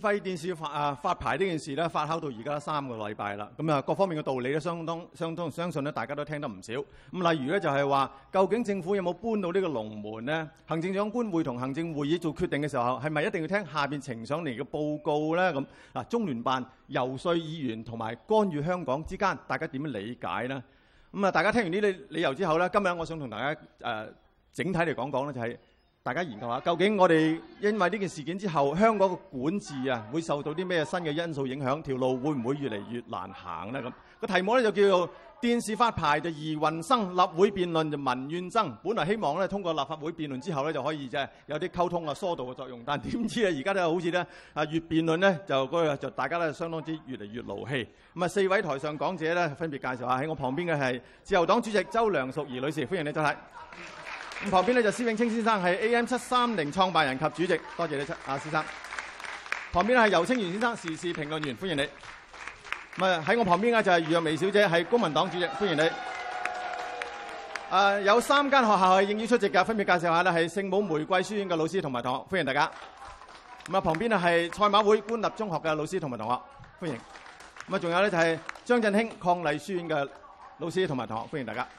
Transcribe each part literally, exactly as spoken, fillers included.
費電視發啊發牌呢件事咧，發酵到而家三個禮拜啦。咁啊，各方面嘅道理咧，相當相當相信咧，大家都聽得唔少。咁例如咧，就係話，究竟政府有冇搬到呢個龍門呢？行政長官會同行政會議做決定嘅時候，係咪一定要聽下邊呈上嚟嘅報告咧？咁嗱，中聯辦遊說議員同埋干預香港之間，大家點樣理解呢？咁啊，大家聽完呢啲理由之後咧，今日我想同大家誒、呃、整體嚟講講咧，就係、是。大家研究下，究竟我哋因為呢件事件之後，香港嘅管治啊，會受到啲咩新嘅因素影響？條路會唔會越嚟越難行呢？咁個題目咧就叫做電視發牌就疑雲生，立會辯論就民怨增。本來希望咧通過立法會辯論之後咧就可以即係有啲溝通啊疏導嘅作用，但點知啊而家咧好似咧啊越辯論咧就嗰個就大家咧相當之越嚟越勞氣。咁啊四位台上講者咧分別介紹下，喺我旁邊嘅係自由黨主席周梁淑怡女士，歡迎你周太。咁旁邊咧就施永青先生係 A M 七三零創辦人及主席，多謝你啊先生。旁邊咧係游清源先生，時事評論員，歡迎你。咁啊喺我旁邊嘅就係余若薇小姐，係公民黨主席，歡迎你。誒、啊、有三間學校係應邀出席嘅，分別介紹下咧係聖母玫瑰書院嘅老師同埋同學，歡迎大家。咁啊旁邊咧係賽馬會官立中學嘅老師同埋同學，歡迎。咁啊仲有咧就係張振興伉儷書院嘅老師同埋同學，歡迎大家。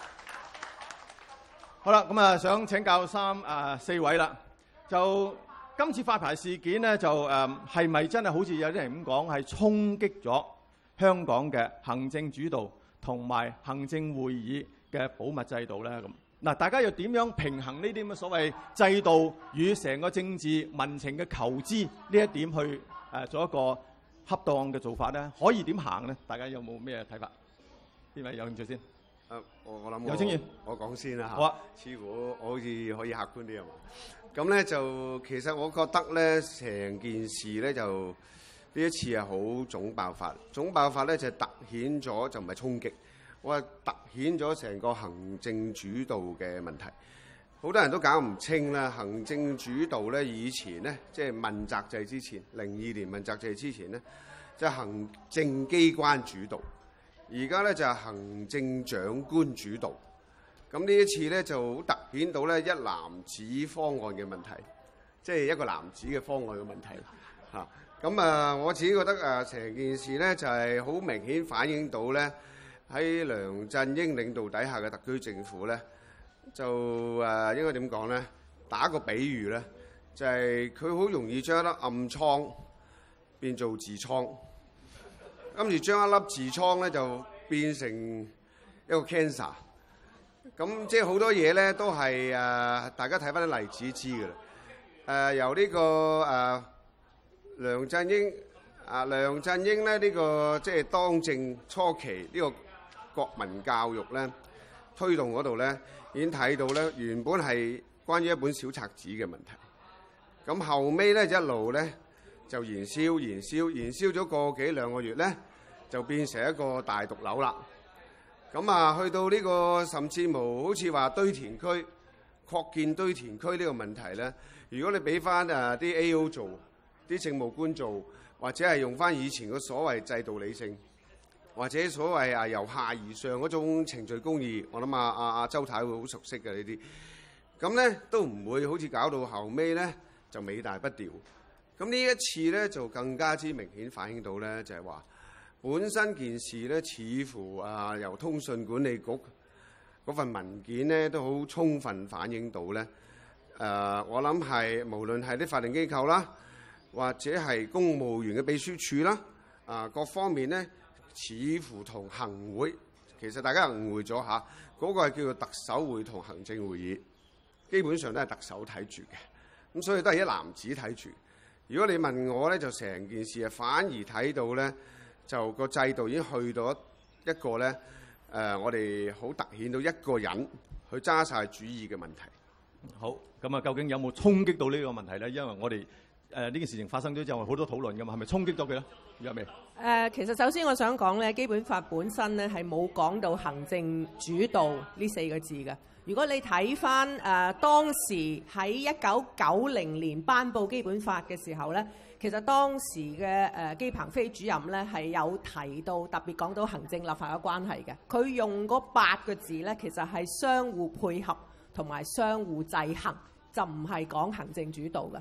好啦，咁啊，想請教三啊、呃、四位啦。就今次發牌事件咧，就誒係咪真係好似有啲人咁講，係衝擊咗香港嘅行政主導同埋行政會議嘅保密制度咧？咁嗱，大家又點樣平衡呢啲咁嘅所謂制度與成個政治民情嘅求知呢一點去誒、呃、做一個恰當嘅做法咧？可以點行咧？大家有冇咩睇法？邊位有興趣先？ 誒，我我諗有清源， 我講先啦嚇。 好啊， 似乎我好似可以客觀啲啊嘛。咁咧就其實我覺得咧，成件事咧就呢一次係好總爆發。總爆發咧就係突顯咗，就唔係衝擊，我係突顯咗成個行政主導嘅問題。好多人都搞唔清啦，行政主導咧以前咧，即係問責制之前，零二年問責制之前咧，就係行政機關主導。而家咧就係行政長官主導，咁呢一次咧就好突顯到咧一籃子方案嘅問題，即係一個籃子嘅方案嘅問題嚇。咁啊，我自己覺得啊，成件事咧就係好明顯反映到咧喺梁振英領導底下嘅特區政府咧，就誒應該點講咧？打個比喻咧，就係佢好容易將一粒暗瘡變做痔瘡。跟住將一粒痔瘡咧就變成一個 cancer， 咁即係好多嘢咧都係誒、呃，大家睇翻啲例子知㗎啦。誒、呃、由呢、這個誒、呃、梁振英啊、呃，梁振英咧呢、這個即係當政初期呢個國民教育咧推動嗰度咧，已經睇到咧原本係關於一本小冊子嘅問題，咁後尾咧一路咧。就燃燒、燃燒、燃燒咗個幾兩個月咧，就變成一個大毒瘤啦。咁啊，去到呢個甚至乎好似話堆填區擴建堆填區呢個問題咧，如果你俾翻誒啲 A O 做，啲政務官做，或者係用翻以前嘅所謂制度理性，或者所謂啊由下而上嗰種程序公義，我諗啊啊啊周太會好熟悉嘅呢啲。咁咧都唔會好似搞到後尾咧就尾大不掉。咁呢一次咧就更加之明顯反映到咧，就係話本身件事咧，似乎啊由通訊管理局嗰份文件咧都好充分反映到咧。誒、呃，我諗係無論係啲法定機構啦，或者係公務員嘅秘書處啦，啊、呃、各方面咧，似乎同行會其實大家誤會咗嚇，嗰、那個係叫做特首會同行政會議，基本上都係特首睇住嘅，咁所以都係一籃子睇住。如果你問我咧，就成件事啊，反而睇到咧，就個制度已經去到一個咧，誒、呃，我哋好突顯到一個人去揸晒主意嘅問題。 好，咁啊，究竟有冇衝擊到呢個問題咧？因為我哋誒呢件事情發生咗之後，好多討論㗎嘛，係咪衝擊咗佢咧？有未？ 誒，其實首先我想講咧，基本法本身咧係冇講到行政主導呢四個字嘅。如果你睇翻誒當時喺一九九零年頒布基本法嘅時候咧，其實當時嘅誒姬鵬飛主任咧係有提到特別講到行政立法嘅關係嘅。佢用嗰八個字咧，其實係相互配合同埋相互制衡，就唔係講行政主導嘅。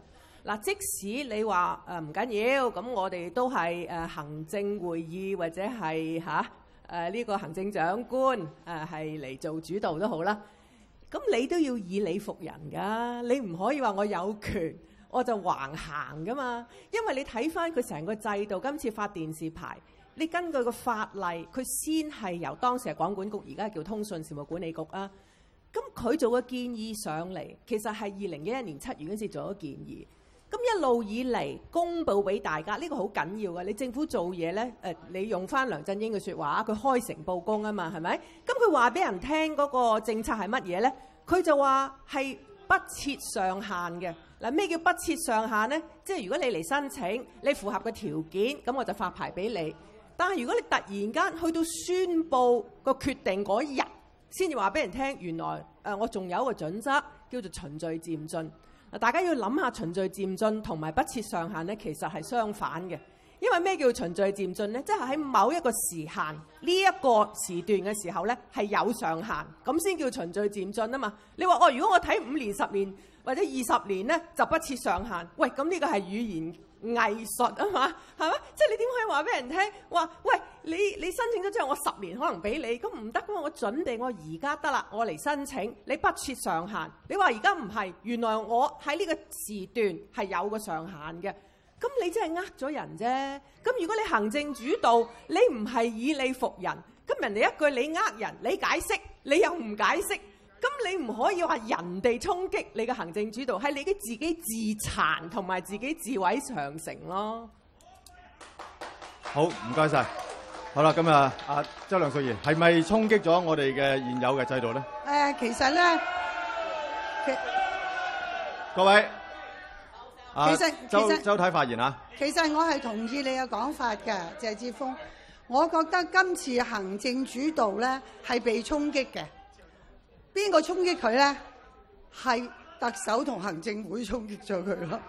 嗱，即使你話誒唔緊要，咁我哋都係誒行政會議或者係嚇誒呢個行政長官誒係嚟做主導都好啦。咁你都要以理服人㗎，你唔可以話我有權我就橫行㗎嘛。因為你睇翻佢成個制度，今次發電視牌，你根據個法例，佢先係由當時係廣管局，而家叫通訊事務管理局啊。咁佢做嘅建議上嚟，其實係二零一一年七月嗰陣時做咗建議。咁一路以嚟公佈俾大家，呢、這個好緊要嘅。你政府做嘢呢，誒，你用翻梁振英嘅説話，佢開誠佈公啊嘛，係咪？咁佢話俾人聽嗰個政策係乜嘢呢？佢就話係不設上限嘅。嗱，咩叫不設上限呢？即係如果你嚟申請，你符合嘅條件，咁我就發牌俾你。但係如果你突然間去到宣佈個決定嗰日，先至話俾人聽，原來誒我仲有一個準則叫做循序漸進。嗱，大家要諗下循序漸進同埋不設上限咧，其實係相反嘅。因為咩叫循序漸進咧？即係喺某一個時限呢一個時段嘅時候咧，係有上限，咁先叫循序漸進啊嘛。你話哦，如果我睇五年、十年或者二十年咧，就不設上限。喂，咁呢個係語言藝術啊嘛，係咪？即係你點可以話俾人聽話？喂，你你申請咗之後，我十年可能俾你，咁唔得噶嘛？我準備我而家得啦，我嚟申請，你不設上限。你話而家唔係，原來我喺呢個時段係有個上限嘅，咁你真係呃咗人啫。咁如果你行政主導，你唔係以理服人，咁人哋一句你呃人，你解釋，你又唔解釋。咁你唔可以話人哋衝擊你嘅行政主導，係你嘅自己自殘同埋自己自毀長城咯。 好，唔該晒。好啦，咁啊，阿周梁淑怡係咪衝擊咗我哋嘅現有嘅制度咧？誒、 呃，其實咧，其各位， 其實周其實周太發言啊。 其實我係同意你嘅講法嘅，謝志峰。我覺得今次行政主導咧係被衝擊嘅。邊個衝擊佢咧？係特首同行政會衝擊咗佢咯。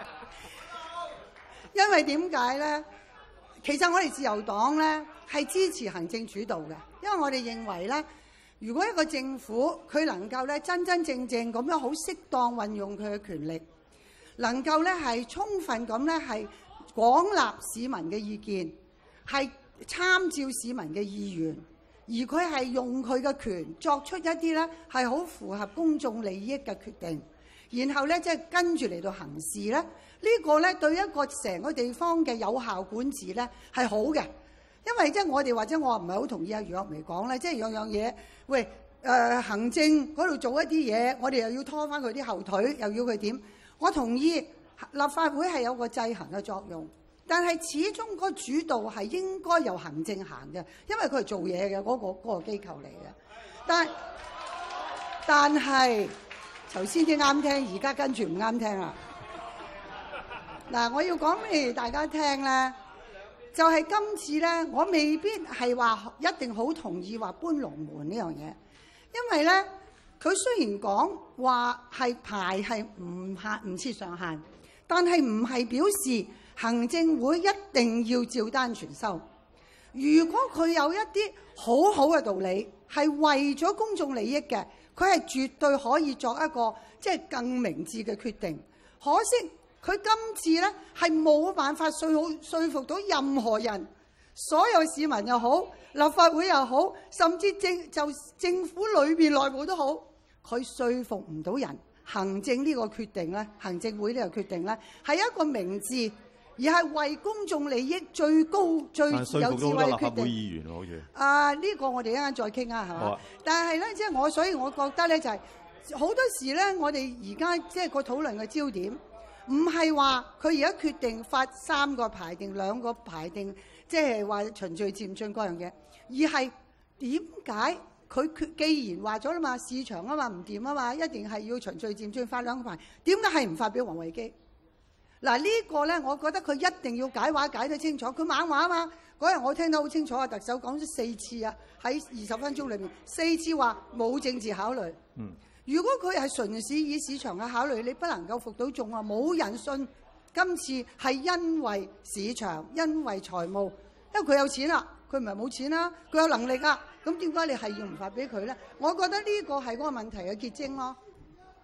因為點解咧？其實我哋自由黨咧係支持行政主導嘅，因為我哋認為咧，如果一個政府佢能夠咧真真正正咁樣好適當運用佢嘅權力，能夠咧係充分咁咧係廣納市民嘅意見，係參照市民嘅意願。而佢係用佢嘅權作出一啲咧係好符合公眾利益嘅決定，然後咧即係跟住嚟到行事咧，呢個咧對一個成個地方嘅有效管治咧係好嘅。因為即係我哋或者我唔係好同意阿楊岳眉講咧，即係樣樣嘢，喂誒、呃、行政嗰度做一啲嘢，我哋又要拖翻佢啲後腿，又要佢點？我同意立法會係有個制衡嘅作用。但係始終個主導係應該由行政行嘅，因為佢係做嘢嘅嗰個嗰個機構嚟嘅。但但係頭先啲啱聽，而家跟住唔啱聽啦。嗱，我要講俾大家聽咧，就係今次咧，我未必係話一定好同意話搬龍門呢樣嘢，因為咧佢雖然講話係牌係唔限唔設上限，但係唔係表示行政會一定要照單全收。如果佢有一啲好好嘅道理，係為咗公眾利益嘅，佢係絕對可以作一個即係更明智嘅決定。可惜佢今次呢係冇辦法說好說服到任何人，所有市民又好，立法會又好，甚至政就政府裏邊內部都好，佢說服唔到人。行政呢個決定呢，行政會呢個決定呢，係一個明智，而係為公眾利益最高最有智慧嘅決定。說服到好多立法會議員喎，好似啊，呢個我哋一陣再傾下，係嘛？但係咧，即係我，所以我覺得咧，就係好多時咧，我哋而家即係個討論嘅焦點，唔係話佢而家決定發三個牌定兩個牌定，即係話循序漸進嗰樣嘢，而係點解佢既然話咗啦嘛，市場啊嘛唔掂啊嘛，一定係要循序漸進發兩個牌，點解係唔發俾王維基？嗱，呢個咧，我覺得佢一定要解話解得清楚。佢猛話啊嘛，嗰日我聽得好清楚啊，特首講咗四次啊，喺二十分鐘裏面四次話冇政治考慮。嗯，如果佢係純粹以市場嘅考慮，你不能夠服到眾啊，冇人信今次係因為市場，因為財務，因為佢有錢啦，佢唔係冇錢啦，佢有能力啊，咁點解你係要唔發俾佢咧？我覺得呢個係嗰個問題嘅結晶咯。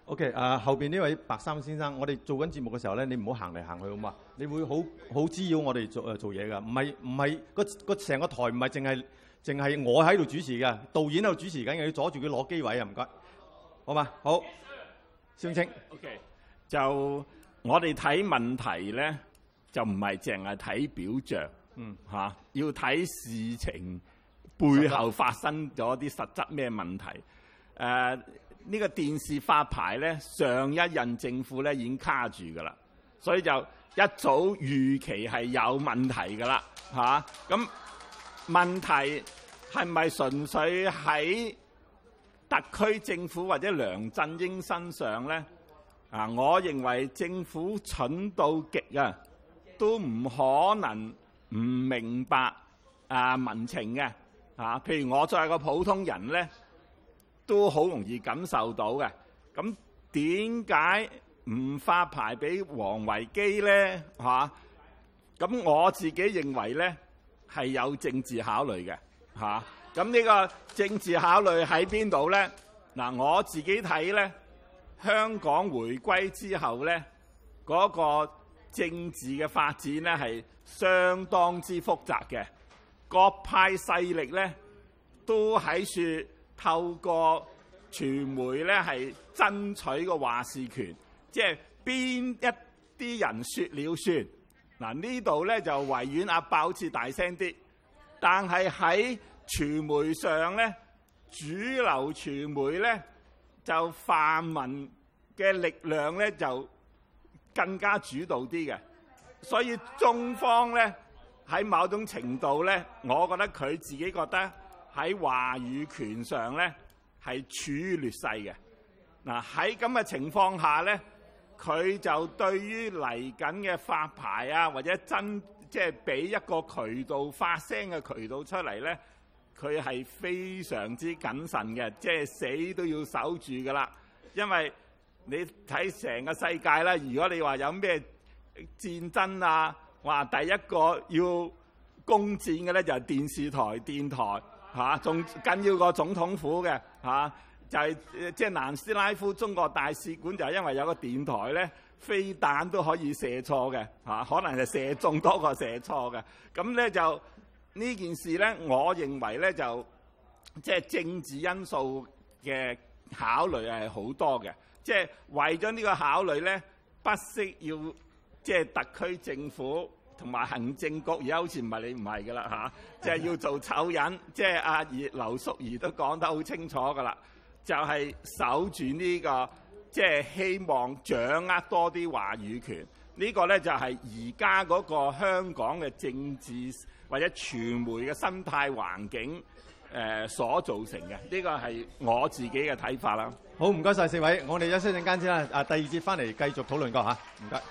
OK， 啊、後邊呢位白衫先生，我哋做緊節目嘅時候咧，你唔好行嚟行去好嘛？你會好好滋擾我哋做誒做嘢㗎，唔係唔係個個成個台唔係淨係淨係我喺度主持嘅，導演喺度主持緊，又要阻住佢攞機位啊！唔該，好嘛？好，蕭清。 OK， 就我哋睇問題咧，就唔係淨係睇表象，嗯嚇、啊，要睇事情背後發生咗啲實質咩問題。誒、呃，呢、這個電視發牌咧，上一任政府咧已經卡住㗎啦，所以就一早預期係有問題㗎啦，嚇、啊。咁問題係咪純粹喺特區政府或者梁振英身上咧？啊，我認為政府蠢到極啊，都唔可能唔明白啊民情嘅。啊，譬如我作為個普通人咧，都好容易感受到嘅。咁點解唔發牌俾王維基咧？嚇、啊，咁我自己認為咧係有政治考慮嘅。嚇、啊，咁呢個政治考慮喺邊度咧？嗱、啊，我自己睇咧，香港回歸之後咧，嗰、那個政治嘅發展咧係相當之複雜嘅。各派勢力咧都喺處透過傳媒咧係爭取個話事權，即係邊一啲人説了算。嗱，呢度咧就維園阿伯好似大聲啲，但係喺傳媒上咧，主流傳媒咧就泛民嘅力量咧就更加主導啲嘅，所以中方咧，喺某種程度咧，我覺得佢自己覺得喺話語權上咧係處於劣勢嘅。嗱，喺咁嘅情況下咧，佢就對於嚟緊嘅發牌啊，或者真即係俾一個渠道發聲嘅渠道出嚟咧，佢係非常之謹慎嘅，即係死都要守住㗎啦。因為你睇成個世界啦，如果你話有咩戰爭啊，話第一個要攻佔嘅咧就係電視台、電台嚇，仲緊要過總統府嘅嚇、啊，就係即係南斯拉夫中國大使館就係因為有個電台咧，飛彈都可以射錯嘅嚇，可能係射中多過射錯嘅。咁咧就呢件事咧，我認為咧就即係、就是、政治因素嘅考慮係好多嘅，即、就、係、是、為咗呢個考慮咧，不惜要即係、就是、特區政府同埋行政局，而家好似唔係你唔係㗎啦嚇，即、啊、係、就是、要做醜人，即係阿劉淑儀都講得好清楚㗎啦，就係、是、守住呢、這個，即、就、係、是、希望掌握多啲話語權。這個、呢個咧就係而家嗰個香港嘅政治或者傳媒嘅生態環境誒、呃、所造成嘅。呢、這個係我自己嘅睇法啦。 好，唔該晒四位，我哋休息陣間先啦。啊，第二節翻嚟繼續討論過嚇，唔該。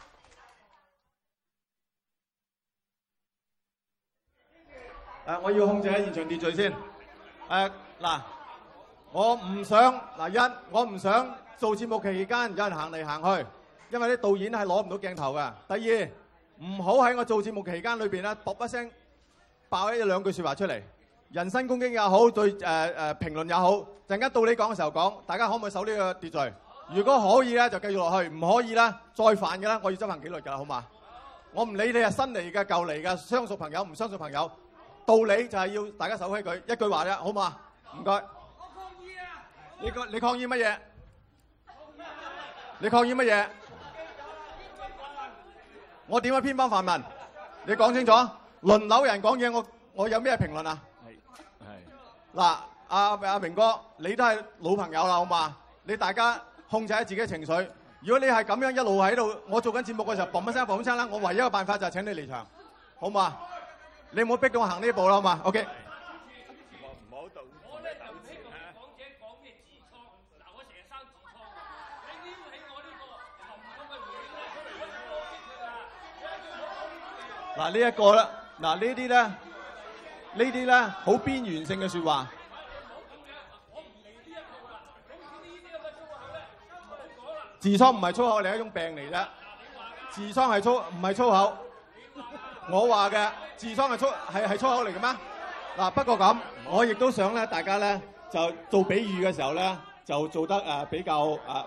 誒、啊，我要控制喺現場秩序先。誒、啊，嗱，我唔想嗱一，我唔想做節目期間有人行嚟行去，因為啲導演係攞唔到鏡頭㗎。第二，唔好喺我做節目期間裏邊咧，卜一聲爆一兩句説話出嚟，人身攻擊也好，對誒誒、呃、評論也好，陣間到你講嘅時候講，大家可唔可以守呢個秩序？如果可以咧，就繼續落去；唔可以咧，再犯嘅咧，我要執行紀律㗎，好嘛？我唔理你係新嚟嘅、舊嚟嘅、相熟朋友、唔相熟朋友。道理就係要大家守規矩，一句話啫，好嘛？唔該。我抗議啊！你個你抗議乜嘢？你抗議乜嘢？我點樣偏幫泛民？你講清楚。輪流人講嘢，我我有咩評論啊？係係。嗱，阿阿明哥，你都係老朋友啦，好嘛？你大家控制下自己嘅情緒。如果你係咁樣一路喺度，我做緊節目嘅時候，嘣一聲嘣一聲啦，我唯一嘅辦法就係請你離場，好嘛？你唔好逼到我行呢步啦，好嘛 ？OK。 我唔好到我咧就唔希望講者講咩痔瘡，嗱我成日生痔瘡㗎，你撩起我呢個沉痛嘅回憶咧出嚟， 嗱呢一個咧，嗱呢啲咧，呢啲咧好邊緣性嘅説話。痔瘡唔係粗口，係一種病嚟啫。痔瘡係粗唔係粗口？我話嘅痔瘡係粗係係粗口嚟嘅咩？嗱，不過咁，我亦都想咧，大家咧就做比喻嘅時候咧，就做得誒比較誒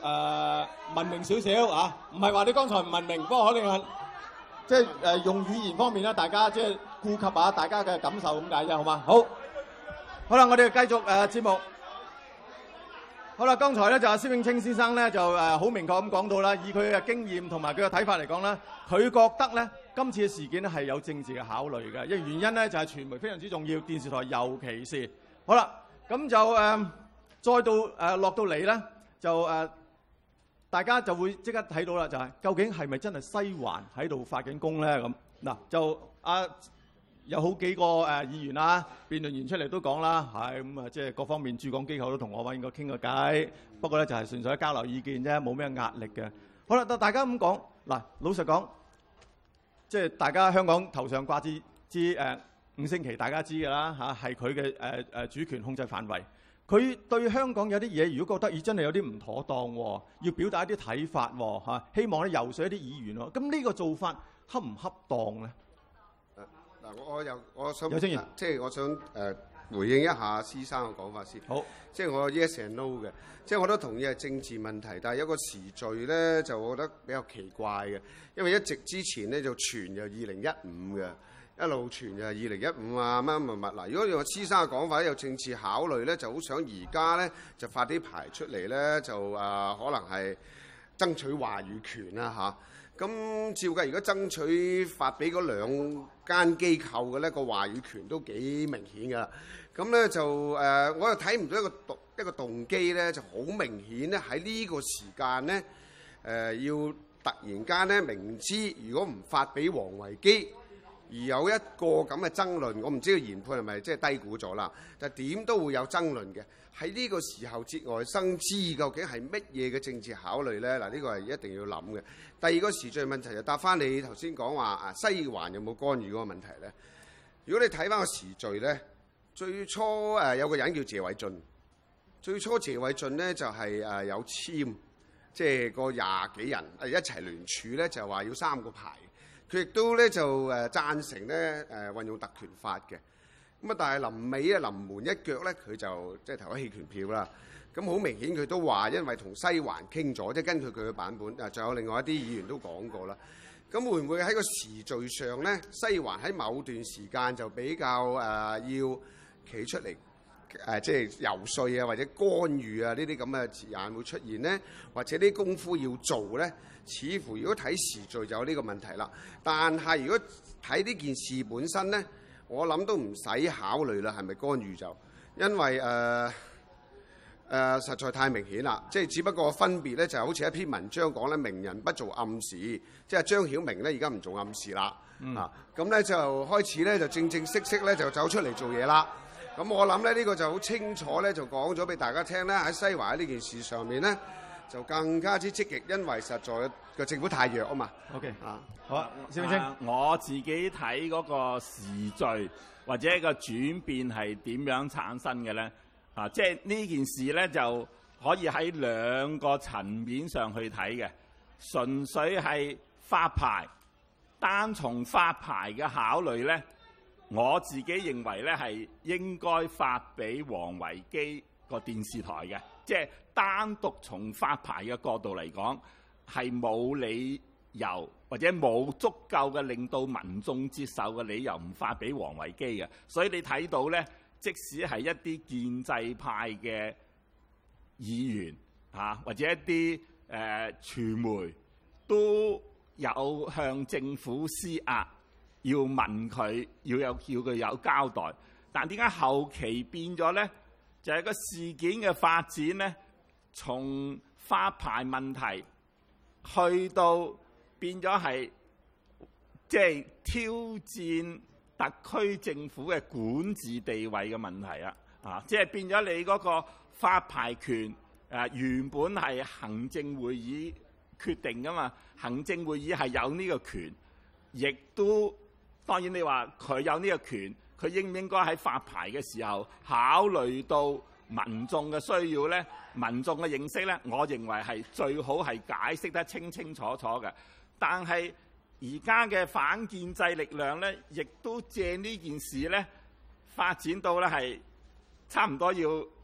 誒文明少少啊，唔係話你剛才唔文明，不過可能係即係誒用語言方面咧，大家即係顧及下大家嘅感受咁解啫，好嘛？好，好啦，我哋繼續誒節目。好啦，剛才咧就阿施永青先生咧就誒好明確咁講到啦，以佢嘅經驗同埋佢嘅睇法嚟講咧，佢覺得咧今次嘅事件咧係有政治嘅考慮嘅，因為原因咧就係傳媒非常之重要，電視台尤其是。好啦，咁就誒、呃、再到誒、呃、落到嚟咧，就誒、呃、大家就會即刻睇到啦，就係、是、究竟係咪真係西環喺度發緊功咧？咁嗱就啊。有好幾個誒議員啊、辯論員出嚟都講啦，係咁啊，即係各方面駐港機構都同我揾過傾個偈，不過咧就係純粹交流意見啫，冇咩壓力嘅。好啦，到大家咁講嗱，老實講，即係大家香港頭上掛支支誒五星旗，大家知㗎啦嚇，係佢嘅誒誒主權控制範圍。佢對香港有啲嘢，如果覺得咦真係有啲唔妥當喎，要表達一啲睇法喎嚇，希望咧游說一啲議員喎，咁呢個做法恰唔恰當咧？ 嗱，我又我想有經驗即係我想誒、呃、回應一下施生嘅講法先。 好， 即係我 yes and no 嘅，即係我都同意係政治問題，但係有個時序咧，就我覺得比較奇怪嘅，因為一直之前咧就傳就二零一五嘅，一路傳就係二零一五啊乜乜乜嗱。如果用施生嘅講法有政治考慮咧，就好想而家咧就發啲牌出嚟咧，就誒、呃、可能係爭取話語權啦嚇。咁照計，如果爭取發俾嗰兩間機構嘅咧，個話語權都幾明顯㗎。咁咧就誒、呃，我又睇唔到一個動一個動機咧，就好明顯咧喺呢個時間咧誒、呃，要突然間咧明知如果唔發俾王維基，而有一個咁嘅爭論，我唔知個研判係咪即係低估咗啦？但係點都會有爭論嘅。喺呢個時候節外生枝，究竟係乜嘢嘅政治考慮咧？嗱，呢個係一定要諗嘅。第二個時序問題就答翻你頭先講話啊，西環有冇干預嗰個問題咧？如果你睇翻個時序咧，最初誒有個人叫謝偉俊，最初謝偉俊咧就係誒有簽，即係個廿幾人誒一齊聯署咧，就話要三個牌。佢亦都咧就誒贊成咧誒運用特權法嘅。咁啊，但係臨尾咧臨門一腳咧，佢就即係投咗棄權票啦。咁好明顯佢都話，因為同西環傾咗，即係根據佢嘅版本。啊，仲有另外一啲議員都講過啦。咁會唔會喺個時序上咧，西環喺某段時間就比較誒、呃、要企出嚟誒、呃，即係游說啊，或者干預啊呢啲咁嘅字眼會出現咧，或者啲功夫要做咧？似乎如果睇時序就有呢個問題啦。但係如果睇呢件事本身咧，我諗都唔使考慮啦，係咪干預就？因為誒誒、呃呃、實在太明顯啦，即係只不過分別咧，就好似一篇文章講咧，明人不做暗事，即係張曉明咧而家唔做暗事啦，嗯、啊咁咧就開始咧就正正式式咧就走出嚟做嘢啦。咁我諗咧呢、呢個就好清楚咧，就講咗俾大家聽咧，喺西環呢件事上面咧就更加之積極，因為實在個政府太弱啊嘛。OK 啊， 好啊，施永青、 啊，我自己睇嗰個時序或者一個轉變係點樣產生嘅咧？啊，即係呢件事咧就可以喺兩個層面上去睇嘅，純粹係發牌，單從發牌嘅考慮咧，我自己認為咧係應該發俾王維基個電視台嘅，即係單獨從發牌嘅角度嚟講，係冇理由或者冇足夠嘅令到民眾接受嘅理由唔發俾王維基嘅。所以你睇到咧，即使係一啲建制派嘅議員啊，或者一啲誒、呃、傳媒都有向政府施壓，要問佢要有叫佢有交代。但點解後期變咗咧？就係、是、個事件嘅發展咧，從發牌問題去到變咗係即係挑戰特區政府嘅管治地位嘅問題啊！啊，即係變咗你嗰個發牌權誒、啊、原本係行政會議決定噶嘛，行政會議係有呢個權，亦都當然你話佢有呢個權。佢應唔應該喺發牌嘅時候考慮到民眾嘅需要咧？民眾嘅認識咧，我認為係最好係解釋得清清楚楚嘅。但係而家嘅反建制力量咧，亦都借呢件事咧發展到咧係差唔多要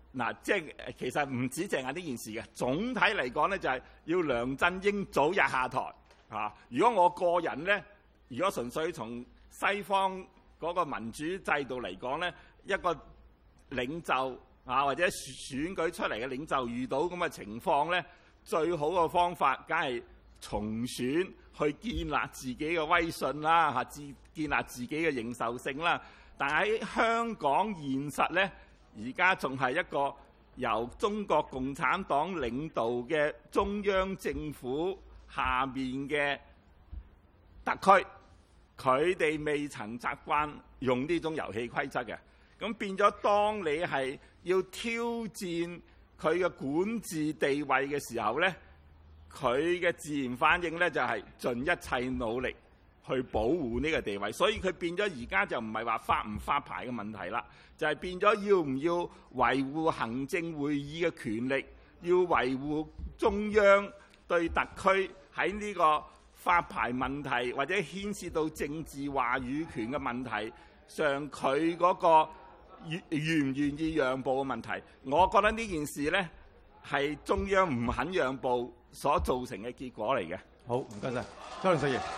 嗱，即係其實唔止淨係呢件事嘅，總體嚟講咧就係要梁振英早日下台啊！如果我個人咧，如果純粹從西方嗰個民主制度嚟講咧，一個領袖啊或者選舉出嚟嘅領袖遇到咁嘅情況咧，最好嘅方法梗係重選去建立自己嘅威信啦，嚇，自建立自己嘅認受性啦。但喺香港現實咧，而家仲係一個由中國共產黨領導嘅中央政府下面嘅特區，佢哋未曾習慣用呢種遊戲規則嘅，咁變咗當你係要挑戰佢嘅管治地位嘅時候咧，佢嘅自然反應咧就係盡一切努力去保護呢個地位，所以佢變咗而家就唔係話發唔發牌嘅問題啦，就係變咗要唔要維護行政會議嘅權力，要維護中央對特區喺呢個發牌問題或者牽涉到政治話語權嘅問題上，佢嗰個願願唔願意讓步嘅問題。我覺得呢件事呢係中央唔肯讓步所造成嘅結果嚟嘅。 好，唔該晒，周梁淑怡。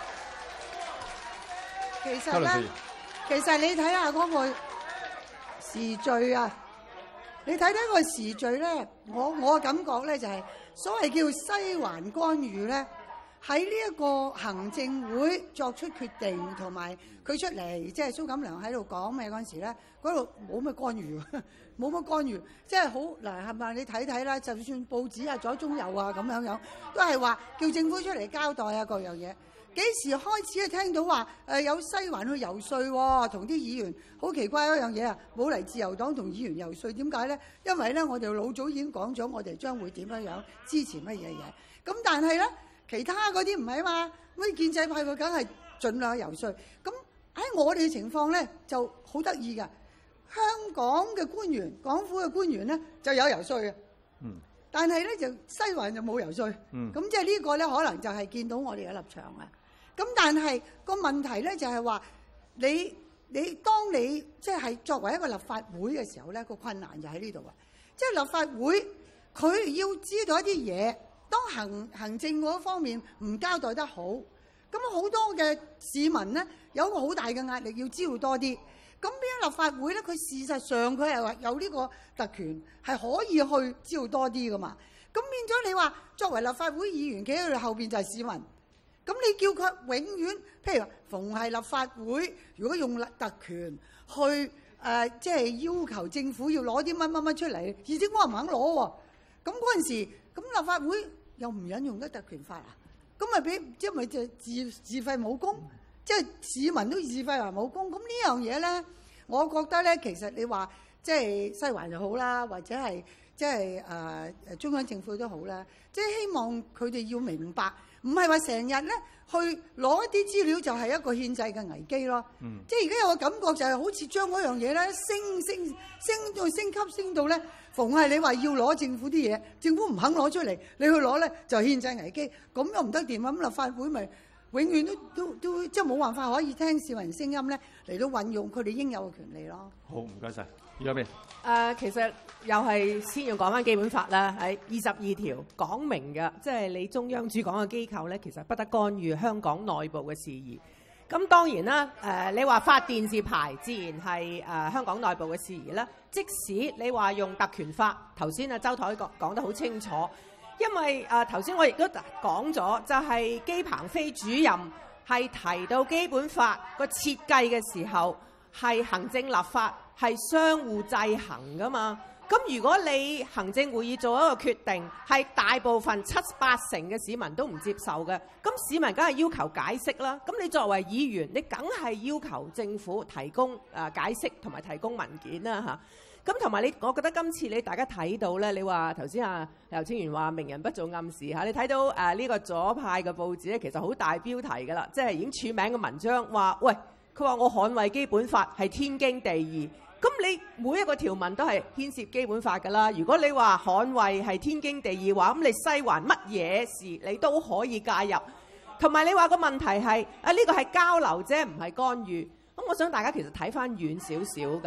其實咧，其實你睇下嗰個時序啊，你睇睇個時序咧，我我嘅感覺咧就係、是、所謂叫西環干預咧，喺呢一個行政會作出決定同埋佢出嚟，即係蘇錦良喺度講咩嗰陣時咧，嗰度冇乜干預，冇乜干預，即係好嗱係咪？你睇睇啦，就算報紙啊、左中右啊咁樣樣，都係話叫政府出嚟交代啊各樣嘢。幾時開始聽到話誒有西環去游說喎？同啲議員好奇怪一樣嘢啊！冇嚟自由黨同議員游說，點解咧？因為咧，我哋老早已經講咗，我哋將會點樣樣支持乜嘢嘢。咁但係咧，其他嗰啲唔係啊嘛。咁建制派佢梗係盡量游說。咁喺我哋嘅情況咧就好得意㗎。香港嘅官員、港府嘅官員咧就有游說嘅。嗯。但係咧就西環就冇游說。嗯。咁即係呢個咧，可能就係見到我哋嘅立場啊。咁但係個問題咧就係話你你當你即係作為一個立法會嘅時候咧，個困難就喺呢度啊！即係立法會佢要知道一啲嘢，當行行政嗰方面唔交代得好，咁好多嘅市民咧有一個好大嘅壓力要知道多啲。咁變咗立法會咧，佢事實上佢係話有呢個特權係可以去知道多啲噶嘛。咁變咗你話作為立法會議員企喺佢後邊就係市民。咁你叫佢永遠，譬如逢係立法會，如果用特權去誒、呃，即係要求政府要攞啲乜乜乜出嚟，而且我唔肯攞喎。咁嗰陣時，咁立法會又唔引用得特權法啊？咁咪俾即係咪就自自廢武功？即係市民都自廢為武功。咁呢樣嘢咧，我覺得咧，其實你話即係西環就好啦，或者係即係誒誒中央政府都好啦，即係希望佢哋要明白。唔係話成日咧去攞一啲資料就係一個憲制嘅危機咯。嗯、即係而家有個感覺就係好似將嗰樣嘢咧升升升到升級升到咧，逢係你話要攞政府啲嘢，政府唔肯攞出嚟，你去攞咧就憲制危機，咁又唔得掂啊！咁立法會咪永遠都都都即係冇辦法可以聽市民聲音咧嚟到運用佢哋應有嘅權利咯。 好，唔該晒。而家邊？ 誒、呃，其實又係先要講翻基本法啦，喺二十二條講明嘅，即係你中央主管嘅機構咧，其實不得干預香港內部嘅事宜。咁當然啦，誒、呃，你話發電視牌，自然係誒、呃、香港內部嘅事宜啦。即使你話用特權法，頭先啊周台講講得好清楚，因為誒頭先我亦都講咗，就係、是、姬鵬飛主任係提到基本法個設計嘅時候，係行政立法係相互制衡噶嘛。咁如果你行政會議做一個決定，係大部分七八成嘅市民都唔接受嘅，咁市民梗係要求解釋啦。咁你作為議員，你梗係要求政府提供誒解釋同埋提供文件啦嚇。咁同埋你，我覺得今次你大家睇到咧，你話頭先啊劉清源話明人不做暗示嚇，你睇到誒呢、啊呢個左派嘅報紙咧，其實好大標題㗎啦，即係已經署名嘅文章話，喂，佢話我捍衛基本法係天經地義。咁你每一個條文都係牽涉基本法㗎啦。如果你話捍衛係天經地義話，咁你西環乜嘢事你都可以介入。同埋你話個問題係啊，呢個係交流啫，唔係干預。咁我想大家其實睇翻遠少少㗎。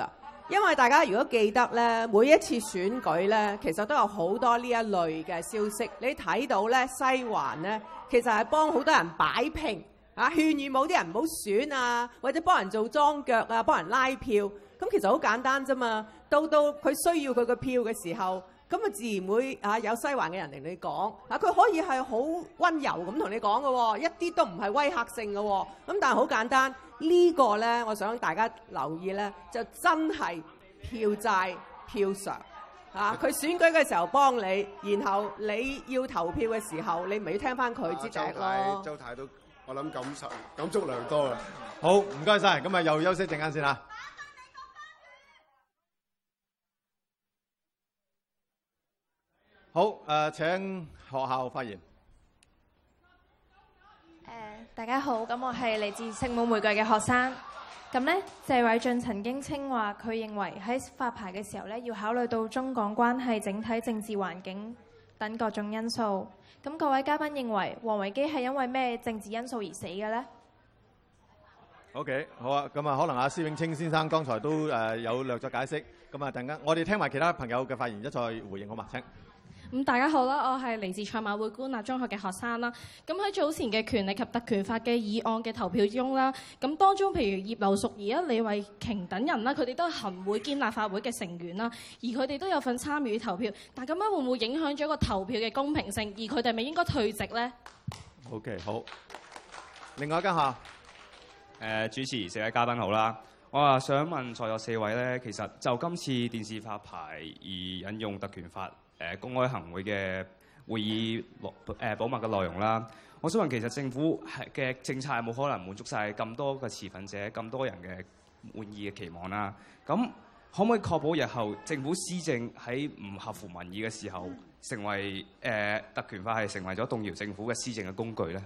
因為大家如果記得咧，每一次選舉咧，其實都有好多呢一類嘅消息。你睇到咧，西環咧，其實係幫好多人擺平啊，勸喻某啲人唔好選啊，或者幫人做莊腳啊，幫人拉票。咁其實好簡單啫嘛。到到佢需要佢個票嘅時候，咁啊自然會啊有西環嘅人同你講啊，佢可以係好温柔咁同你講嘅喎，一啲都唔係威嚇性嘅喎。咁但係好簡單。呢個呢，我想大家留意呢，就真係票債票償啊！佢選舉嘅時候幫你，然後你要投票嘅時候，你咪要聽翻佢支笛咯。 周太都我諗感受感觸良多啊！ 好，唔該晒，咁啊又休息陣間先啦。好，誒、呃、請學校發言。 大家好，咁我係嚟自聖母玫瑰嘅學生。咁呢，謝偉俊曾經稱話，佢認為喺發牌嘅時候呢，要考慮到中港關係、整體政治環境等各種因素。咁各位嘉賓認為，王維基係因為咩政治因素而死嘅呢？ OK， 好啊，咁啊，可能阿施永青先生剛才都誒有略作解釋。咁啊，陣間我哋聽埋其他朋友嘅發言，一再回應好嘛？請。 咁大家好啦，我係嚟自賽馬會官立中學嘅學生啦。咁喺早前嘅權力及特權法嘅議案嘅投票中啦，咁當中譬如葉劉淑儀啊、李慧瓊等人啦，佢哋都係行會兼立法會嘅成員啦，而佢哋都有份參與投票。但咁樣會唔會影響咗個投票嘅公平性？而佢哋咪應該退席呢？ OK， 好。另外一間校，誒、 呃、主持四位嘉賓好啦。我啊想問在座四位咧，其實就今次電視發牌而引用特權法。誒公開行會嘅會議內誒保密嘅內容啦，我想問其實政府係嘅政策係冇可能滿足晒咁多嘅持份者、咁多人嘅滿意嘅期望啦？咁可唔可以確保日後政府施政喺唔合乎民意嘅時候，成為誒、呃、特權法係成為咗動搖政府嘅施政嘅工具咧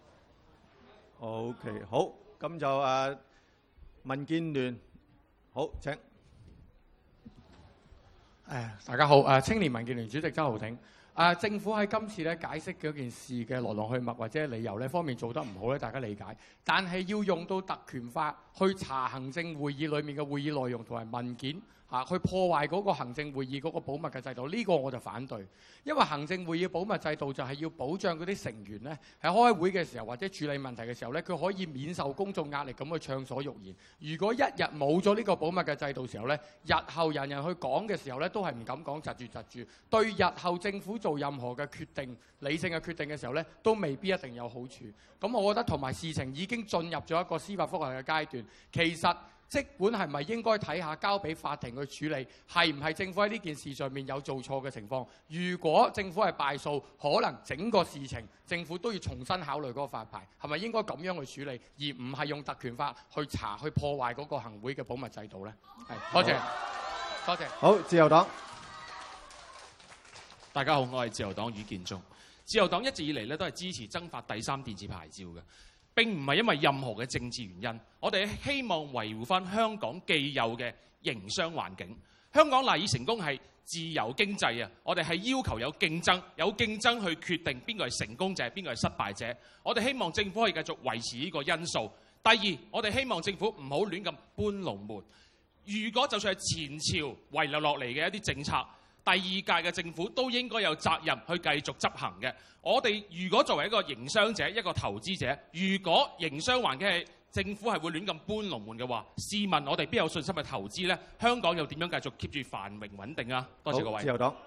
？OK， 好，咁就誒、呃、民建聯，好請。 誒，大家好！誒，青年民建聯主席周浩鼎。誒，政府喺今次咧解釋嗰件事嘅來龍去脈或者理由呢方面做得唔好咧，大家理解。但係要用到特權法去查行政會議裡面嘅會議內容同埋文件嚇，去破壞嗰個行政會議嗰個保密嘅制度，呢個我就反對。因為行政會議保密制度就係要保障嗰啲成員呢喺開會嘅時候或者處理問題嘅時候呢，佢可以免受公眾壓力咁去暢所欲言。如果一日冇咗呢個保密嘅制度時候呢，日後人人去講嘅時候呢，都係唔敢講，窒住窒住，對日後政府做任何嘅決定、理性嘅決定嘅時候呢，都未必一定有好處。咁我覺得同埋事情已經進入咗一個司法覆核嘅階段，其實即管係咪應該睇下交俾法庭去處理，係唔係政府喺呢件事上面有做錯嘅情況？如果政府係敗訴，可能整個事情政府都要重新考慮嗰個發牌，係咪應該咁樣去處理，而唔係用特權法去查、去破壞嗰個行會嘅保密制度呢？係，多謝，多謝。 好，自由黨。 大家好，我係自由黨余建中。自由黨一直以嚟咧都係支持增發第三電視牌照嘅。並唔係因為任何嘅政治原因，我哋希望維護翻香港既有嘅營商環境。香港賴以成功係自由經濟啊！我哋係要求有競爭，有競爭去決定邊個係成功者，邊個係失敗者。我哋希望政府可以繼續維持呢個因素。第二，我哋希望政府唔好亂咁搬龍門。如果就算係前朝遺留落嚟嘅一啲政策，第二屆嘅政府都應該有責任去繼續執行嘅。我哋如果作為一個營商者、一個投資者，如果營商環境係政府係會亂咁搬龍門嘅話，試問我哋邊有信心去投資呢？香港又點樣繼續 keep 住繁榮穩定啊？多謝各位。 自由黨，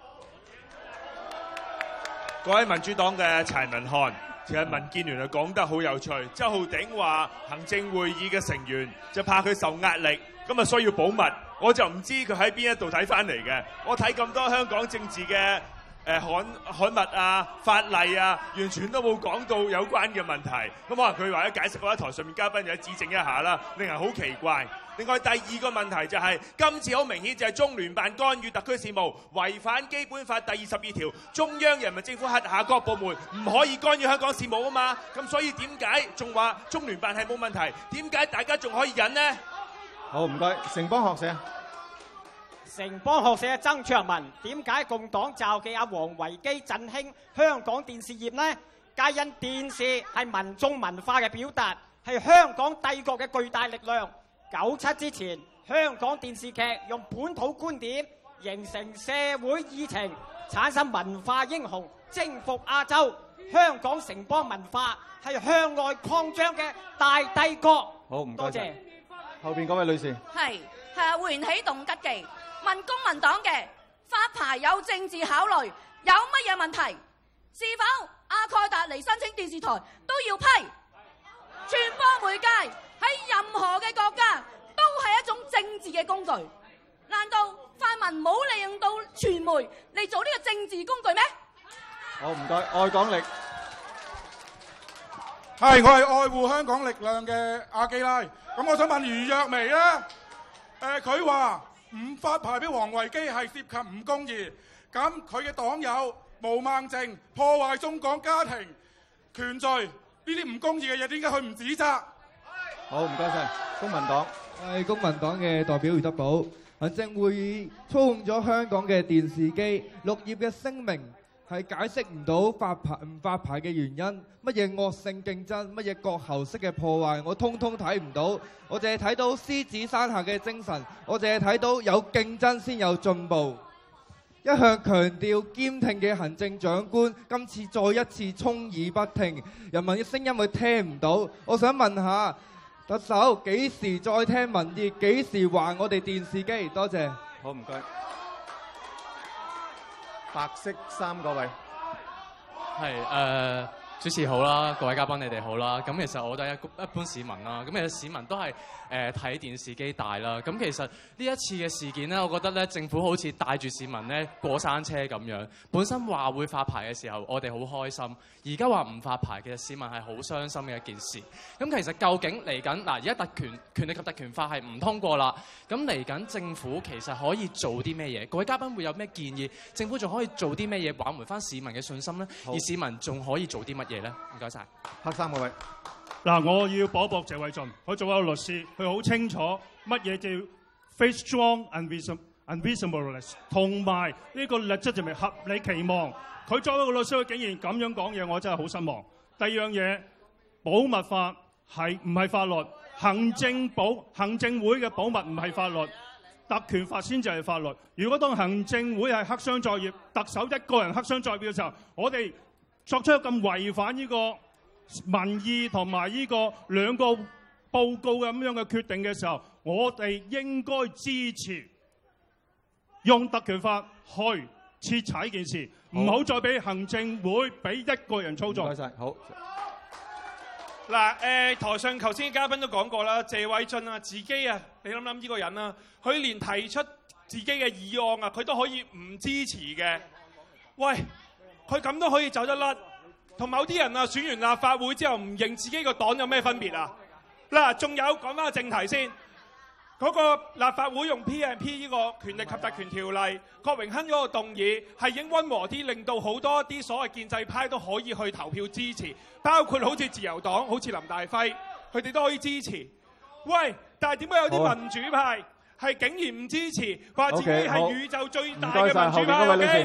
各位民主黨嘅柴文漢，其實民建聯啊講得好有趣。周浩鼎話行政會議嘅成員就怕佢受壓力，咁啊需要保密。我就唔知佢喺邊一度睇翻嚟嘅。我睇咁多香港政治嘅誒刊刊物啊、法例啊，完全都冇講到有關嘅問題。咁可能佢為咗解釋，我喺台上面嘉賓就指正一下啦，令人好奇怪。另外第二個問題就係、是、今次好明顯就係中聯辦干預特區事務，違反基本法第二十二條，中央人民政府轄下各部門唔可以干預香港事務啊嘛。咁所以點解仲話中聯辦係冇問題？點解大家仲可以忍呢？ 好，唔該，城邦學社。 城邦學社嘅曾卓文，點解共黨召記阿王維基振興香港電視業呢？皆因電視係民眾文化嘅表達，係香港帝國嘅巨大力量。九七之前， 香港電視劇用本土觀點形成社會議程，產生文化英雄，征服亞洲。香港城邦文化係向外擴張嘅大帝國。 好，唔該多謝晒。後邊嗰位女士。 係係喚起動吉記，問公民黨嘅發牌有政治考慮，有乜嘢問題？是否阿蓋達嚟申請電視台都要批？傳播媒介喺任何嘅國家都係一種政治嘅工具，難道泛民冇利用到傳媒嚟做呢個政治工具咩？ 好，唔該，愛港力。 係，我係愛護香港力量嘅阿基拉。咁我想問余若薇咧，誒佢話唔發牌俾王維基係涉及唔公義，咁佢嘅黨友毛孟靜破壞中港家庭權序，呢啲唔公義嘅嘢點解佢唔指責？ 好，唔該晒，公民黨。 我係公民黨嘅代表余德寶。行政會議操控咗香港嘅電視機，綠葉嘅聲明係解釋唔到發牌唔發牌嘅原因，乜嘢惡性競爭，乜嘢割喉式嘅破壞，我通通睇唔到。我淨係睇到獅子山下嘅精神，我淨係睇到有競爭先有進步。一向強調兼聽嘅行政長官，今次再一次充耳不聽，人民嘅聲音佢聽唔到。我想問下特首，幾時再聽民意？幾時還我哋電視機？多謝。 好，唔該。白色衫嗰位。 係誒、呃，主持好啦，各位嘉賓你哋好啦。咁其實我都係一一般市民啦。咁其實市民都係誒睇電視機大啦。咁其實呢一次嘅事件咧，我覺得咧政府好似帶住市民咧過山車咁樣。本身話會發牌嘅時候，我哋好開心。而家話唔發牌，其實市民係好傷心嘅一件事。咁其實究竟嚟緊嗱，而家特權權力及特權法係唔通過啦。咁嚟緊政府其實可以做啲咩嘢？各位嘉賓會有咩建議？政府仲可以做啲咩嘢挽回翻市民嘅信心咧？而市民仲可以做啲乜嘢咧？唔該晒。 黑衫嗰位。 嗱，我要駁駁謝偉俊，佢做一個律師，佢好清楚乜嘢叫 face strong and reasonableness， 同埋呢個 legitimate 合理期望。佢作為一個律師，佢竟然咁樣講嘢，我真係好失望。第二樣嘢，保密法係唔係法律？行政保行政會嘅保密唔係法律，特權法先至係法律。如果當行政會係黑箱作業，特首一個人黑箱作業嘅時候，我哋作出咁違反呢個民意同埋呢個兩個報告咁樣嘅決定嘅時候，我哋應該支持用特權法去徹查呢件事，唔好再俾行政會俾一個人操縱。 唔該晒，好。 嗱，誒台上頭先嘅嘉賓都講過啦，謝偉俊啊，自己啊，你諗諗呢個人啊，佢連提出自己嘅議案啊，佢都可以唔支持嘅。喂，佢咁都可以走得甩，同某啲人啊選完立法會之後唔認自己個黨有咩分別啊？嗱，仲有講翻個正題先。嗰個立法會用 P and P 呢個權力及特權條例，郭榮鏗嗰個動議係已經溫和啲，令到好多啲所謂建制派都可以去投票支持，包括好似自由黨、好似林大輝，佢哋都可以支持。喂，但係點解有啲民主派係竟然唔支持，話自己係宇宙最大嘅民主派 ？OK。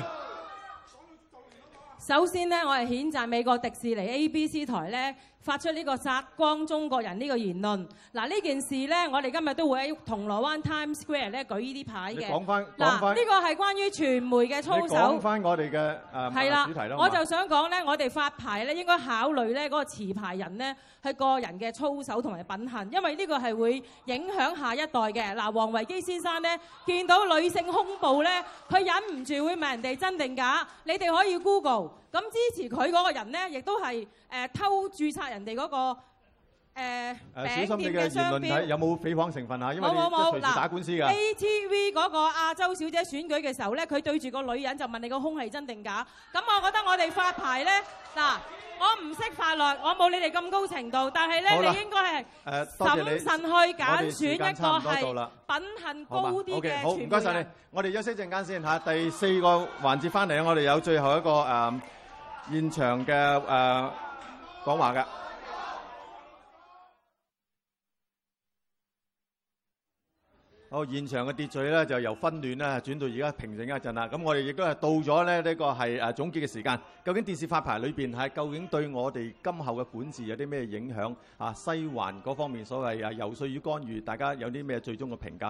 首先呢，我係譴責美國迪士尼 A B C 台呢發出呢個殺光中國人呢個言論。嗱，呢件事呢，我哋今日都會喺銅鑼灣 Times Square 咧舉呢啲牌嘅。 講翻嗱，呢個係關於傳媒嘅操守。 講翻我哋嘅誒主題啦。 我就想講呢，我哋發牌咧應該考慮呢嗰個持牌人呢係個人嘅操守同埋品行，因為呢個係會影響下一代嘅。嗱，王維基先生呢，見到女性胸部呢，佢忍唔住會問人哋真定假。你哋可以 Google。咁支持佢嗰個人呢，亦都係誒、呃、偷註冊人哋嗰、那個誒、呃呃、餅店嘅商標。 有冇誹謗成分啊？因為冇冇冇。 隨時打官司㗎。 A T V 嗰個亞洲小姐選舉嘅時候咧，佢對住個女人就問你個胸係真定假。咁我覺得我哋發牌咧，嗱，我唔識法律，我冇你哋咁高程度，但係咧你應該係審慎去揀選一個係品行高啲嘅傳媒人。 好，唔該晒你。我哋休息陣間先嚇，第四個環節翻嚟，我哋有最後一個誒。呃現場嘅誒、呃、講話嘅，好，現場嘅秩序咧就由紛亂咧轉到而家平靜一陣啦。咁我哋亦都係到咗咧呢個係誒總結嘅時間。究竟電視發牌裏邊係究竟對我哋今後嘅管治有啲咩影響啊？西環嗰方面所謂誒遊說與干預，大家有啲咩最終嘅評價？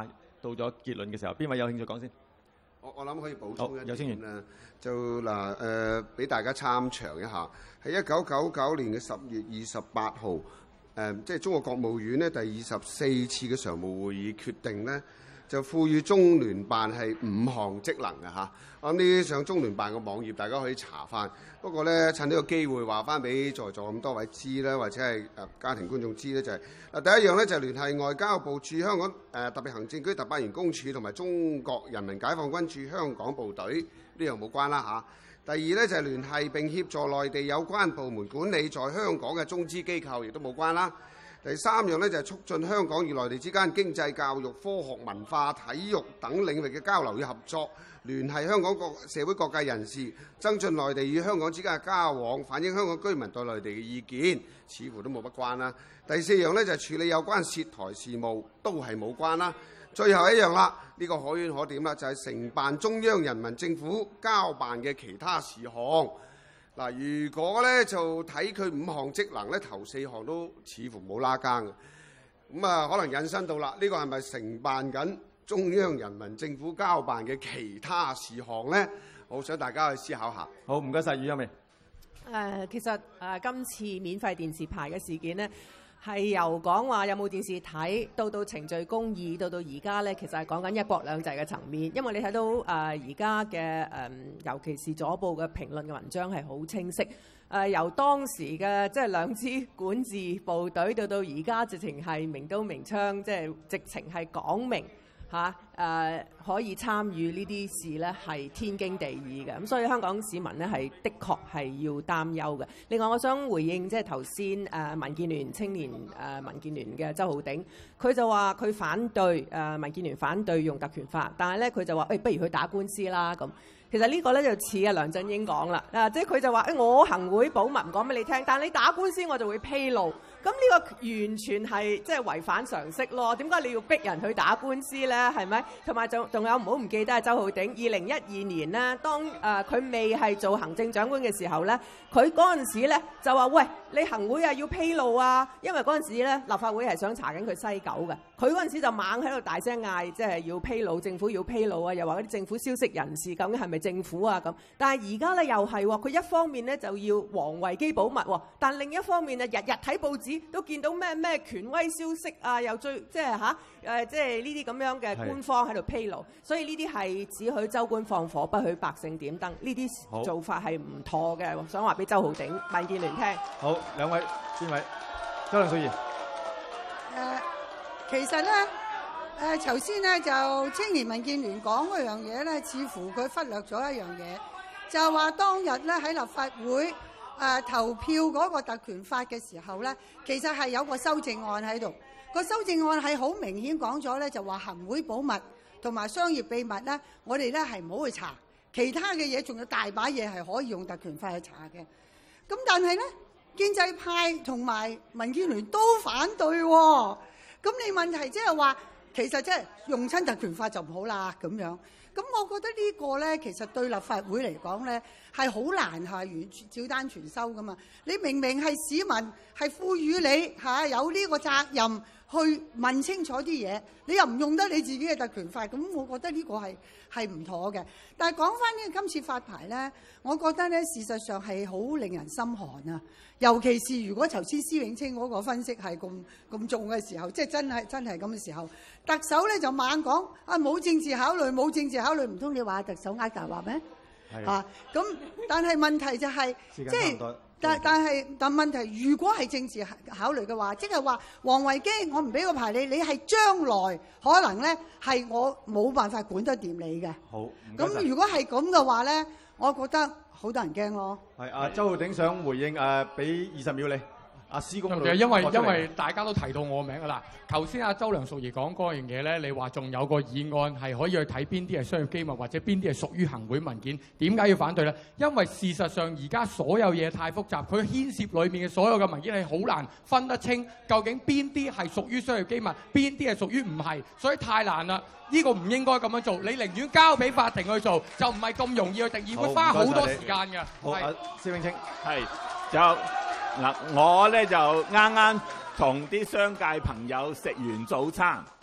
到咗結論嘅時候，邊位有興趣講先？ 我我諗可以補充一有清點啦，就嗱誒，俾、呃、大家參詳一下，喺一九九九年嘅十月二十八號，誒、呃、即係中國國務院呢第二十四次嘅常務會議決定呢，就賦予中聯辦係五項職能嘅嚇。我諗呢啲上中聯辦嘅網頁，大家可以查翻。不過咧，趁呢個機會話翻俾在座咁多位知啦，或者係誒家庭觀眾知咧，就係、是、嗱第一樣咧就係聯繫外交部駐香港誒、呃、特別行政區特派員公署同埋中國人民解放軍駐香港部隊呢樣冇關啦嚇。第二咧就係聯繫並協助內地有關部門管理在香港嘅中資機構，亦都冇關啦。第三樣咧就係促進香港與內地之間經濟、教育、科學、文化、體育等領域嘅交流與合作，聯繫香港各社會各界人士，增進內地與香港之間嘅交往，反映香港居民對內地嘅意見，似乎都冇乜關啦。第四樣咧就係處理有關涉台事務，都係冇關啦。最後一樣啦，呢、這個可圈可點啦，就係、是、承辦中央人民政府交辦嘅其他事項。嗱，如果咧就睇佢五項職能咧，頭四項都似乎冇拉更嘅，咁啊可能引申到啦，呢、這個係咪承辦緊中央人民政府交辦嘅其他事項咧？我想大家去思考下。 好，唔該晒，余欣薇。 誒，其實誒、呃、今次免費電視牌嘅事件呢，係由講話有冇電視睇，到到程序公義，到到而家咧，其實係講緊一國兩制嘅層面。因為你睇到誒而家嘅誒，尤其是左報嘅評論嘅文章係好清晰。誒、呃、由當時嘅即係兩支管治部隊，到到而家直情係明刀明槍，即係直情係講明。嚇誒、啊呃、可以參與呢啲事咧係天經地義嘅，咁所以香港市民咧係的確係要擔憂嘅。另外，我想回應即係頭先誒民建聯青年誒、呃、民建聯嘅周浩鼎，佢就話佢反對誒、呃、民建聯反對用特權法，但係咧佢就話誒、欸、不如去打官司啦咁。其實呢個咧就似啊梁振英講啦，啊即係佢就話誒、欸、我行會保密唔講俾你聽，但係你打官司我就會披露。咁呢個完全係即係違反常識咯。點解你要逼人去打官司咧？係咪？同埋仲仲有唔好唔記得啊，周浩鼎，二零一二年呢，當誒佢、呃、未係做行政長官嘅時候咧，佢嗰陣時咧就話：喂，你行會啊要披露啊！因為嗰陣時咧立法會係想查緊佢西九嘅，佢嗰陣時就猛喺度大聲嗌，即係要披露，政府要披露啊！又話嗰啲政府消息人士究竟係咪政府啊咁？但係而家咧又係喎，佢一方面咧就要王維基保密喎，但另一方面啊日日睇報紙。都見到咩咩權威消息啊，又最即係嚇誒，即係呢啲咁樣嘅官方喺度披露，所以呢啲係只許州官放火，不許百姓點燈，呢啲做法係唔妥嘅。想話俾周浩鼎、民建聯聽。 好，兩位邊位？周梁淑怡。誒、 呃，其實咧誒，頭先咧就青年民建聯講嗰樣嘢咧，似乎佢忽略咗一樣嘢，就係話當日咧喺立法會。誒、呃、投票嗰個特權法嘅時候咧，其實係有個修正案喺度。個修正案係好明顯講咗咧，就話行會保密同埋商業秘密咧，我哋咧係唔好去查。其他嘅嘢仲有大把嘢係可以用特權法去查嘅。咁但係咧，建制派同埋民建聯都反對喎、哦。咁你問題即係話，其實即係用親特權法就唔好啦咁樣。咁我覺得呢個咧，其實對立法會嚟講咧，係好難係完照單全收噶嘛。你明明係市民係賦予你嚇、啊、有呢個責任去問清楚啲嘢，你又唔用得你自己嘅特權法，咁我覺得呢個係係唔妥嘅。但係講翻呢個今次發牌咧，我覺得咧事實上係好令人心寒啊。尤其是如果頭先施永青嗰個分析係咁咁重嘅時候，即係真係真係咁嘅時候，特首咧就猛講啊冇政治考慮，冇政治考慮，唔通你話特首呃大話咩？啊咁，但係問題就係、是、即係但但係但問題，如果係政治考慮嘅話，即係話王維基我唔俾個牌你，你係將來可能咧係我冇辦法管得掂你嘅。好，咁如果係咁嘅話咧，我覺得好多人驚咯。係啊， 周浩鼎想回應誒，俾二十秒你。阿施公， 因為因為大家都提到我名㗎啦。頭先阿周梁淑怡講嗰樣嘢咧，你話仲有個議案係可以去睇邊啲係商業機密，或者邊啲係屬於行會文件，點解要反對咧？因為事實上而家所有嘢太複雜，佢牽涉裏面嘅所有嘅文件係好難分得清，究竟邊啲係屬於商業機密，邊啲係屬於唔係，所以太難啦。呢、這個唔應該咁樣做，你寧願交俾法庭去做，就唔係咁容易去定義，會花好多時間㗎。 好，阿施永青， 係就嗱，我咧就啱啱同啲商界朋友食完早餐，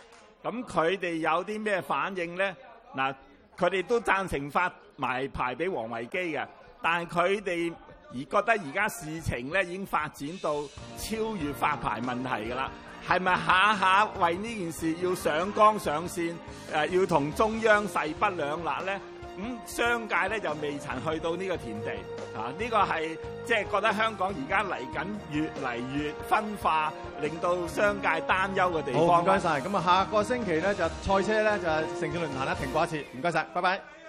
咁佢哋有啲咩反應咧？嗱，佢哋都贊成發埋牌俾王維基嘅，但係佢哋而覺得而家事情咧已經發展到超越發牌問題㗎啦。係咪下下為呢件事要上綱上線？誒、呃，要同中央勢不兩立咧？咁、嗯、商界咧就未曾去到呢個田地，啊！呢、這個係即係覺得香港而家嚟緊越嚟越分化，令到商界擔憂嘅地方。 好，唔該晒。咁啊，下個星期咧就賽車咧就城市論壇咧停過一次。唔該晒，拜拜。